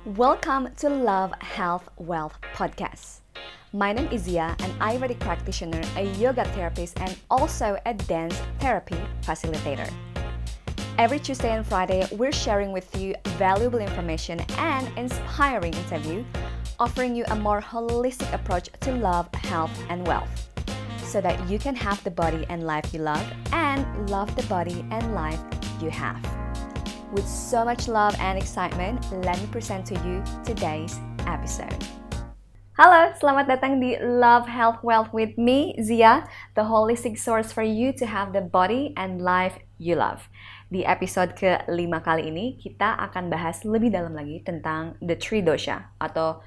Welcome to Love, Health, Wealth podcast. My name is Zia, an Ayurvedic practitioner, a yoga therapist, and also a dance therapy facilitator. Every Tuesday and Friday, we're sharing with you valuable information and inspiring interview, offering you a more holistic approach to love, health, and wealth, so that you can have the body and life you love and love the body and life you have. With so much love and excitement, let me present to you today's episode. Halo, selamat datang di Love, Health, Wealth with me, Zia, the holistic source for you to have the body and life you love. Di episode ke-5 kali ini, kita akan bahas lebih dalam lagi tentang the three dosha atau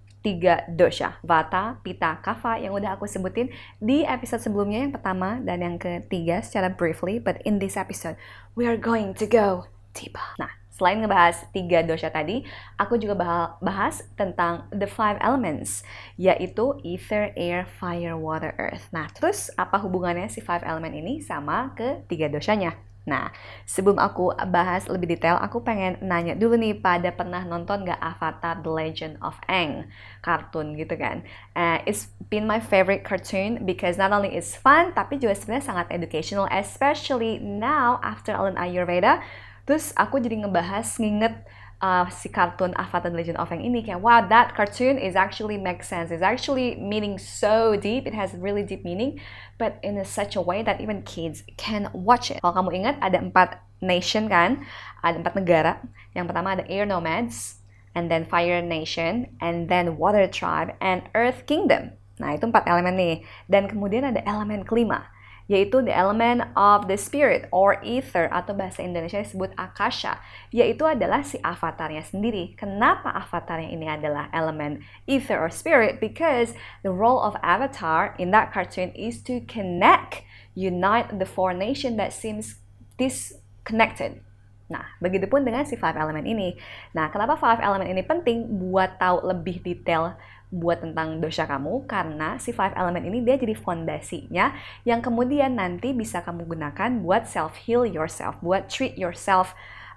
3 dosha, Vata, Pitta, Kapha yang udah aku sebutin di episode sebelumnya, yang pertama dan yang ketiga secara briefly, but in this episode, we are going to go deeper. Nah, selain ngebahas 3 dosha tadi, aku juga bahas tentang the 5 elements, yaitu ether, air, fire, water, earth. Nah, terus apa hubungannya si 5 element ini sama ke 3 doshanya? Nah, sebelum aku bahas lebih detail, aku pengen nanya dulu nih, pada pernah nonton gak Avatar The Legend of Aang? Kartun gitu kan. It's been my favorite cartoon because not only it's fun, tapi juga sebenarnya sangat educational, especially now after Alan Ayurveda. Terus aku jadi nginget si kartun Avatar The Legend of Aang ini, kayak wow, that cartoon is actually makes sense. It's actually meaning so deep. It has really deep meaning, but in such a way that even kids can watch it. Kalau kamu ingat, ada 4 nation kan, ada 4 negara. Yang pertama ada Air Nomads, and then Fire Nation, and then Water Tribe, and Earth Kingdom. Nah, itu 4 elemen nih. Dan kemudian ada elemen kelima, yaitu the element of the spirit or ether, atau bahasa Indonesia disebut akasha, yaitu adalah si avatarnya sendiri. Kenapa avatarnya ini adalah elemen ether or spirit? Because the role of avatar in that cartoon is to connect, unite the 4 nations that seems disconnected. Nah, begitupun dengan si 5 element ini. Nah, kenapa 5 element ini penting buat tahu lebih detail buat tentang dosha kamu? Karena si 5 element ini dia jadi fondasinya yang kemudian nanti bisa kamu gunakan buat self-heal yourself, buat treat yourself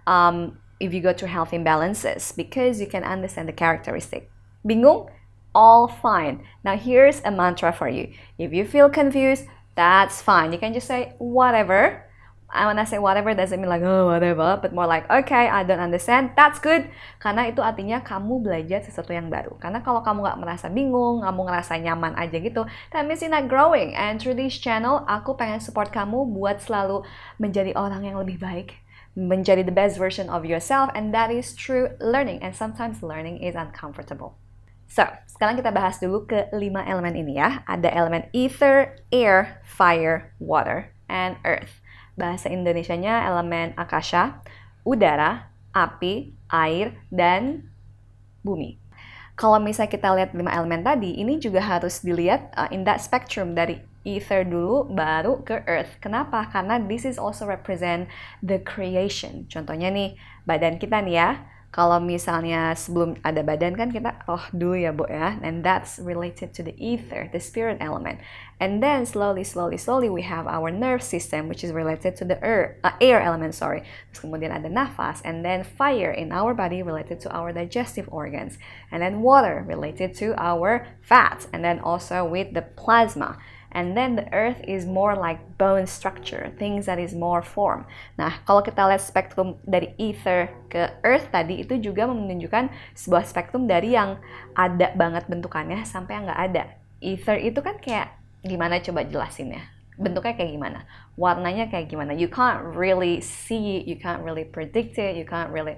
if you go through health imbalances, because you can understand the characteristic. Bingung? All fine. Now here's a mantra for you. If you feel confused, that's fine. You can just say whatever. When I say whatever, doesn't mean like, oh, whatever, but more like, okay, I don't understand, that's good. Karena itu artinya kamu belajar sesuatu yang baru. Karena kalau kamu nggak merasa bingung, kamu ngerasa nyaman aja gitu, that means you're not growing. And through this channel, aku pengen support kamu buat selalu menjadi orang yang lebih baik, menjadi the best version of yourself, and that is true learning. And sometimes learning is uncomfortable. So, sekarang kita bahas dulu ke 5 elemen ini ya. Ada elemen ether, air, fire, water, and earth. Bahasa Indonesianya elemen akasha, udara, api, air, dan bumi. Kalau misalnya kita lihat 5 elemen tadi, ini juga harus dilihat in that spectrum, dari ether dulu baru ke earth. Kenapa? Karena this is also represent the creation. Contohnya nih, badan kita nih ya. Kalau misalnya sebelum ada badan kan kita dulu ya, Bu ya. And that's related to the ether, the spirit element. And then slowly we have our nerve system, which is related to the air element, sorry. Terus kemudian ada nafas, and then fire in our body related to our digestive organs. And then water related to our fats, and then also with the plasma. And then the earth is more like bone structure, things that is more form. Nah, kalau kita lihat spektrum dari ether ke earth tadi, itu juga menunjukkan sebuah spektrum dari yang ada banget bentukannya sampai yang nggak ada. Ether itu kan kayak gimana, coba jelasin ya. Bentuknya kayak gimana? Warnanya kayak gimana? You can't really see it, you can't really predict it, you can't really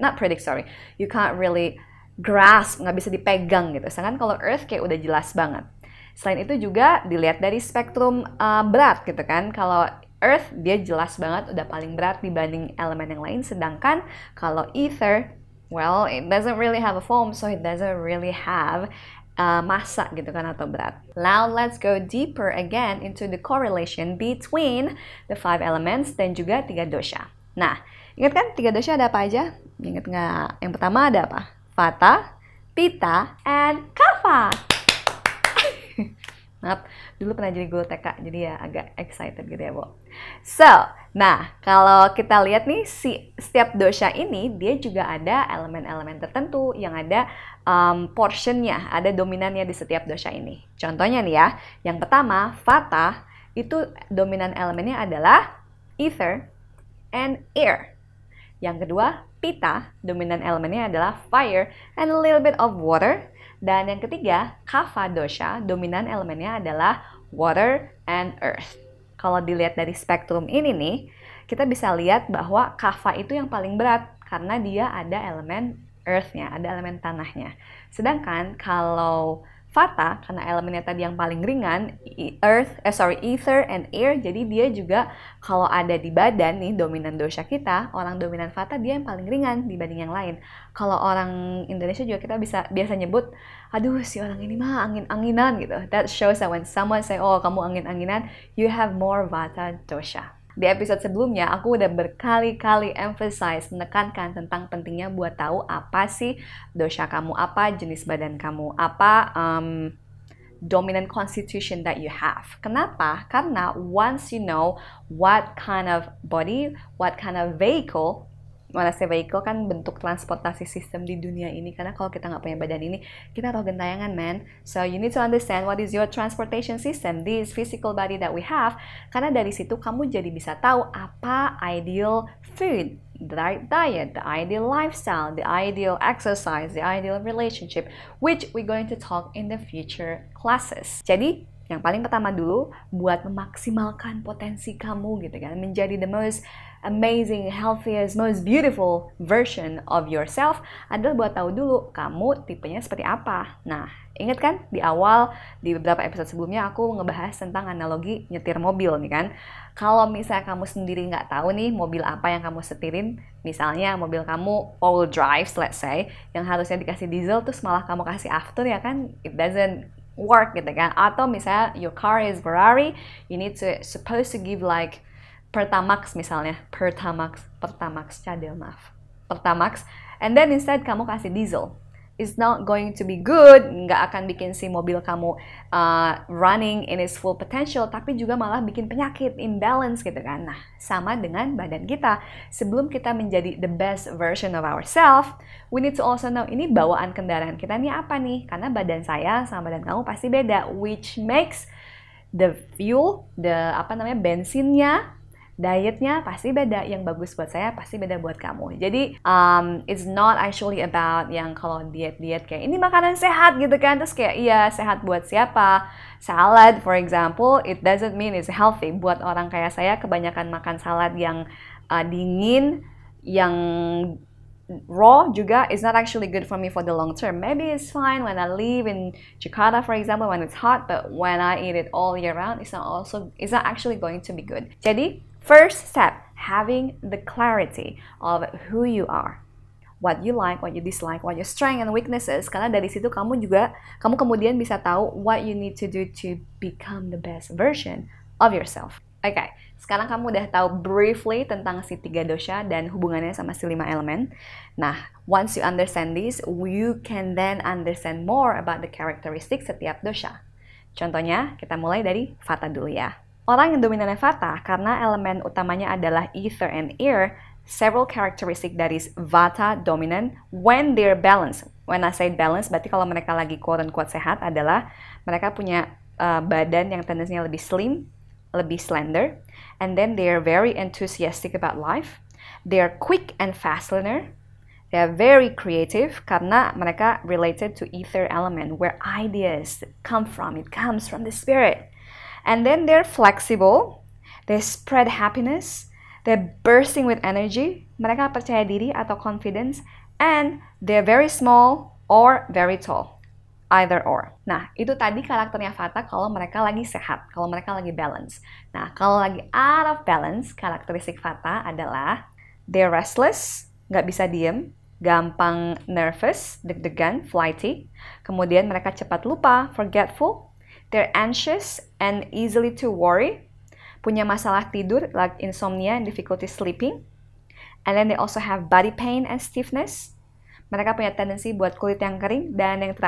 grasp, nggak bisa dipegang gitu. Sedangkan kalau earth kayak udah jelas banget. Selain itu juga dilihat dari spektrum berat gitu kan. Kalau earth dia jelas banget udah paling berat dibanding elemen yang lain. Sedangkan kalau ether, well, it doesn't really have a form, so it doesn't really have massa gitu kan, atau berat. Now let's go deeper again into the correlation between the 5 elements dan juga 3 dosha. Nah, ingat kan 3 dosha ada apa aja? Ingat nggak? Yang pertama ada apa? Vata, Pitta, and Kapha. Maaf, dulu pernah jadi guru TK, jadi ya agak excited gitu ya, Bu. So, nah kalau kita lihat nih setiap dosha ini dia juga ada elemen-elemen tertentu yang ada portionnya, ada dominannya di setiap dosha ini. Contohnya nih ya, yang pertama vata itu dominan elemennya adalah ether and air. Yang kedua pitta, dominan elemennya adalah fire and a little bit of water. Dan yang ketiga, kapha dosha, dominan elemennya adalah water and earth. Kalau dilihat dari spektrum ini nih, kita bisa lihat bahwa kapha itu yang paling berat karena dia ada elemen earth-nya, ada elemen tanahnya. Sedangkan kalau vata, karena elemennya tadi yang paling ringan, ether and air, jadi dia juga kalau ada di badan nih, dominan dosha kita, orang dominan vata dia yang paling ringan dibanding yang lain. Kalau orang Indonesia juga kita biasa nyebut, aduh si orang ini mah angin-anginan gitu. That shows that when someone say, oh kamu angin-anginan, you have more vata dosha. Di episode sebelumnya, aku udah berkali-kali emphasize, menekankan tentang pentingnya buat tahu apa sih dosha kamu, apa jenis badan kamu, apa dominant constitution that you have. Kenapa? Karena once you know what kind of body, what kind of vehicle, mana sih vehicle kan bentuk transportasi sistem di dunia ini, karena kalau kita nggak punya badan ini, kita tahu gentayangan, man. So you need to understand what is your transportation system, this physical body that we have, karena dari situ kamu jadi bisa tahu apa ideal food, the right diet, the ideal lifestyle, the ideal exercise, the ideal relationship, which we're going to talk in the future classes. Jadi yang paling pertama dulu, buat memaksimalkan potensi kamu gitu kan, menjadi the most amazing, healthiest, most beautiful version of yourself adalah buat tahu dulu kamu tipenya seperti apa. Nah, ingat kan di awal, di beberapa episode sebelumnya aku ngebahas tentang analogi nyetir mobil nih kan. Kalau misalnya kamu sendiri nggak tahu nih mobil apa yang kamu setirin, misalnya mobil kamu all drive, let's say, yang harusnya dikasih diesel terus malah kamu kasih after, ya kan, it doesn't work gitu kan. Atau misalnya your car is Ferrari, you need to supposed to give like Pertamax misalnya, Pertamax, and then instead kamu kasih diesel, it's not going to be good, nggak akan bikin si mobil kamu running in its full potential, tapi juga malah bikin penyakit, imbalance gitu kan. Nah, sama dengan badan kita. Sebelum kita menjadi the best version of ourselves, we need to also know ini bawaan kendaraan kita nih apa nih, karena badan saya sama badan kamu pasti beda, which makes the fuel, bensinnya, dietnya pasti beda, yang bagus buat saya pasti beda buat kamu. Jadi it's not actually about yang kalau diet kayak ini makanan sehat gitu kan, terus kayak iya sehat buat siapa, salad for example, it doesn't mean it's healthy. Buat orang kayak saya kebanyakan makan salad yang dingin, yang raw juga is not actually good for me for the long term. Maybe it's fine when I live in Jakarta for example when it's hot, but when I eat it all year round, it's not actually going to be good. Jadi first step, having the clarity of who you are, what you like, what you dislike, what your strength and weaknesses. Karena dari situ kamu kemudian bisa tahu what you need to do to become the best version of yourself. Oke, sekarang kamu udah tahu briefly tentang si 3 dosha dan hubungannya sama si 5 elemen. Nah, once you understand this, you can then understand more about the characteristics setiap dosha. Contohnya, kita mulai dari vata dulu ya. Orang yang dominannya vata, karena elemen utamanya adalah ether and air, several characteristic dari vata dominant when they're balanced. When I say balance, berarti kalau mereka lagi quote-unquote sehat adalah mereka punya badan yang tendensinya lebih slim, lebih slender, and then they're very enthusiastic about life. They're quick and fast learner. They're very creative karena mereka related to ether element where ideas come from. It comes from the spirit. And then they're flexible, they spread happiness, they're bursting with energy, mereka percaya diri atau confidence, and they're very small or very tall, either or. Nah, itu tadi karakternya vata kalau mereka lagi sehat, kalau mereka lagi balance. Nah, kalau lagi out of balance, karakteristik vata adalah they're restless, nggak bisa diem, gampang nervous, deg-degan, flighty, kemudian mereka cepat lupa, forgetful, they're anxious and easily to worry, punya masalah tidur like insomnia and difficulty sleeping, and then they also have body pain and stiffness. Mereka punya tendensi buat kulit yang kering, dan yang terakhir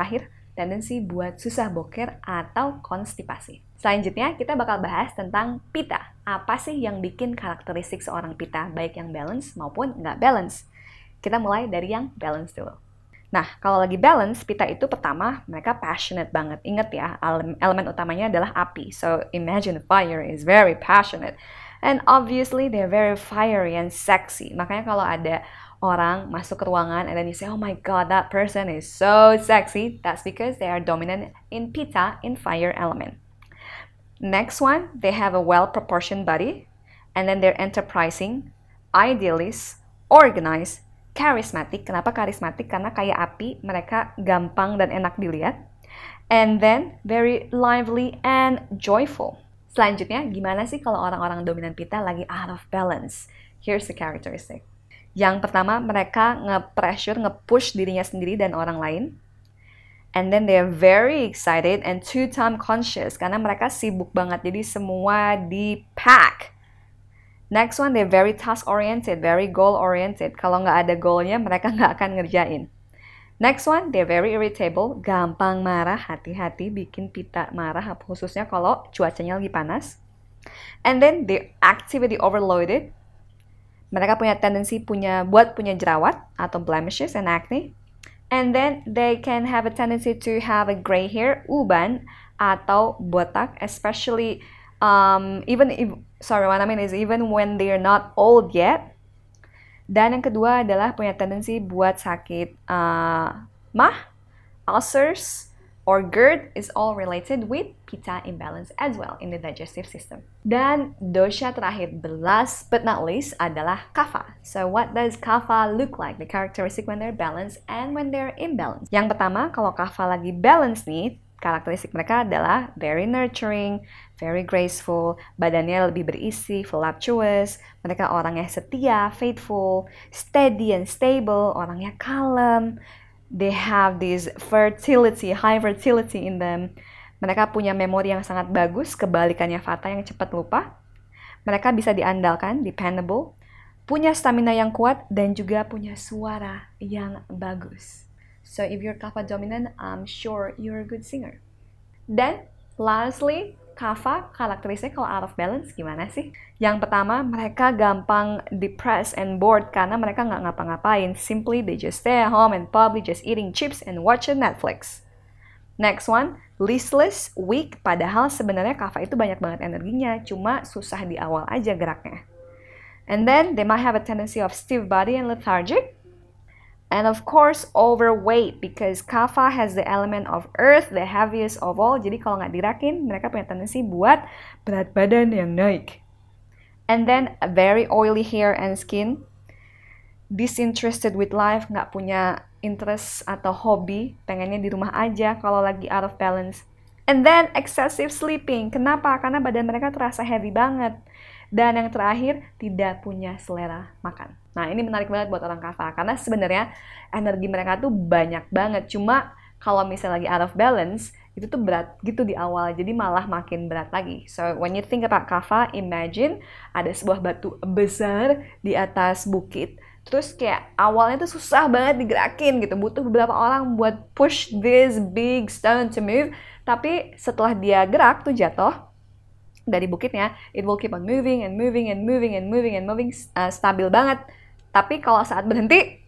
tendensi buat susah boker atau konstipasi. Selanjutnya, kita bakal bahas tentang pita. Apa sih yang bikin karakteristik seorang pita, baik yang balance maupun nggak balance? Kita mulai dari yang balance dulu. Nah, kalau lagi balance, pita itu pertama, mereka passionate banget. Ingat ya, elemen utamanya adalah api. So, imagine fire is very passionate. And obviously, they're very fiery and sexy. Makanya kalau ada orang masuk ke ruangan and then you say, oh my god, that person is so sexy. That's because they are dominant in pita, in fire element. Next one, they have a well-proportioned body. And then they're enterprising, idealist, organized, charismatic. Kenapa charismatic? Karena kayak api, mereka gampang dan enak dilihat. And then very lively and joyful. Selanjutnya, gimana sih kalau orang-orang dominan pita lagi out of balance? Here's the characteristic. Yang pertama, mereka nge-pressure, nge-push dirinya sendiri dan orang lain. And then they're very excited and two-time conscious karena mereka sibuk banget, jadi semua di-pack. Next one, they're very task-oriented, very goal-oriented. Kalau nggak ada goalnya, mereka nggak akan ngerjain. Next one, they're very irritable, gampang marah, hati-hati bikin pita marah, khususnya kalau cuacanya lagi panas. And then, they're activity overloaded. Mereka punya tendensi punya jerawat atau blemishes and acne. And then, they can have a tendency to have a gray hair, uban, atau botak, especially even when they're not old yet. Dan yang kedua adalah punya tendensi buat sakit mah, ulcers, or GERD is all related with pita imbalance as well in the digestive system. Dan dosha terakhir, last but not least, adalah kapha. So what does kapha look like? The characteristic when they're balanced and when they're imbalanced. Yang pertama, kalau kapha lagi balance nih, karakteristik mereka adalah very nurturing, very graceful, badannya lebih berisi, voluptuous, mereka orangnya setia, faithful, steady and stable, orangnya kalem, they have this fertility, high fertility in them, mereka punya memori yang sangat bagus, kebalikannya vata yang cepat lupa, mereka bisa diandalkan, dependable, punya stamina yang kuat, dan juga punya suara yang bagus. So if you're kapha dominant, I'm sure you're a good singer. Then, lastly, kapha karakteristiknya kalau out of balance gimana sih? Yang pertama, mereka gampang depressed and bored karena mereka nggak ngapa-ngapain. Simply, they just stay at home and probably just eating chips and watching Netflix. Next one, listless, weak, padahal sebenarnya kapha itu banyak banget energinya, cuma susah di awal aja geraknya. And then, they might have a tendency of stiff body and lethargic. And of course, overweight because kapha has the element of earth, the heaviest of all. Jadi kalau nggak dirakin, mereka punya tendensi buat berat badan yang naik. And then, a very oily hair and skin. Disinterested with life, nggak punya interest atau hobi, pengennya di rumah aja kalau lagi out of balance. And then, excessive sleeping. Kenapa? Karena badan mereka terasa heavy banget. Dan yang terakhir, tidak punya selera makan. Nah, ini menarik banget buat orang kapha, karena sebenarnya energi mereka tuh banyak banget. Cuma kalau misalnya lagi out of balance, itu tuh berat gitu di awal, jadi malah makin berat lagi. So, when you think about kapha, imagine ada sebuah batu besar di atas bukit. Terus kayak awalnya tuh susah banget digerakin gitu, butuh beberapa orang buat push this big stone to move. Tapi setelah dia gerak tuh jatuh dari bukitnya, it will keep on moving and moving and moving and moving and moving, stabil banget. Tapi kalau saat berhenti.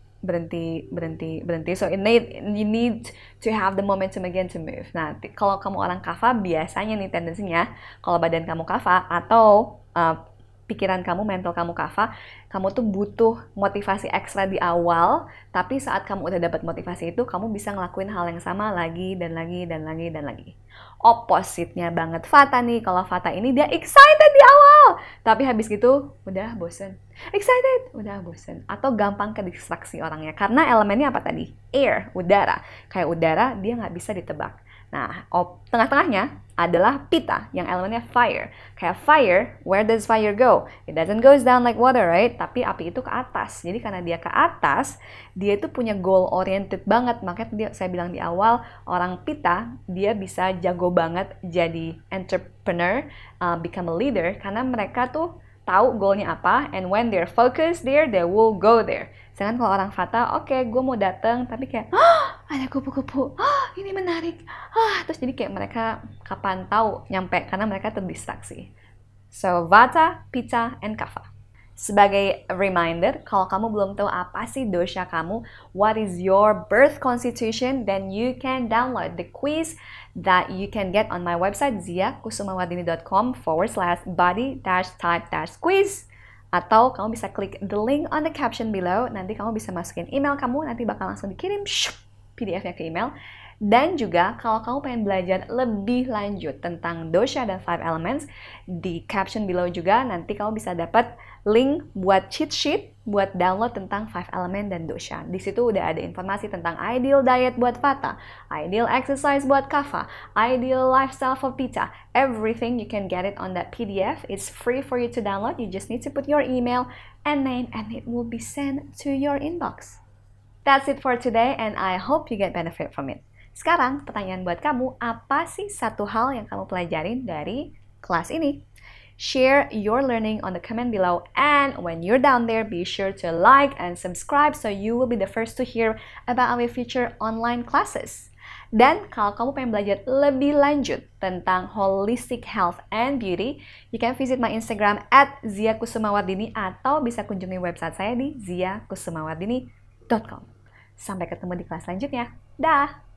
So you need to have the momentum again to move. Nah, kalau kamu orang kapha, biasanya nih tendensinya, kalau badan kamu kapha atau pikiran kamu, mental kamu kapha, kamu tuh butuh motivasi ekstra di awal, tapi saat kamu udah dapat motivasi itu, kamu bisa ngelakuin hal yang sama lagi dan lagi dan lagi dan lagi. Opposite-nya banget vata nih, kalau vata ini dia excited di awal, tapi habis gitu udah bosen. Excited, udah bosen. Atau gampang ke distraksi orangnya, karena elemennya apa tadi? Air, udara. Kayak udara, dia nggak bisa ditebak. Nah, tengah-tengahnya adalah pita, yang elemennya fire. Kayak fire, where does fire go? It doesn't goes down like water, right? Tapi api itu ke atas. Jadi karena dia ke atas, dia itu punya goal-oriented banget. Makanya saya bilang di awal, orang pita, dia bisa jago banget jadi entrepreneur, become a leader, karena mereka tuh tahu goalnya apa, and when they're focused there, they will go there. Sedangkan kalau orang vata, oke, gue mau datang, tapi kayak, ada kupu-kupu, ini menarik, terus jadi kayak mereka kapan tahu nyampe karena mereka terdistraksi. So, Vata, Pitta, and Kapha. Sebagai reminder, kalau kamu belum tahu apa sih dosha kamu, what is your birth constitution, then you can download the quiz that you can get on my website ziakusumawardini.com/body-type-quiz. Atau kamu bisa klik the link on the caption below, nanti kamu bisa masukin email kamu, nanti bakal langsung dikirim PDF-nya ke email. Dan juga kalau kamu pengen belajar lebih lanjut tentang dosha dan 5 elements, di caption below juga nanti kamu bisa dapat link buat cheat sheet buat download tentang 5 element dan dosha. Di situ udah ada informasi tentang ideal diet buat Vata, ideal exercise buat Kapha, ideal lifestyle for Pitta. Everything you can get it on that PDF. It's free for you to download. You just need to put your email and name and it will be sent to your inbox. That's it for today and I hope you get benefit from it. Sekarang, pertanyaan buat kamu, apa sih satu hal yang kamu pelajarin dari kelas ini? Share your learning on the comment below, and when you're down there, be sure to like and subscribe so you will be the first to hear about our future online classes. Dan kalau kamu pengen belajar lebih lanjut tentang holistic health and beauty, you can visit my Instagram @ziakusumawardini atau bisa kunjungi website saya di ziakusumawardini.com. Sampai ketemu di kelas selanjutnya. Dah!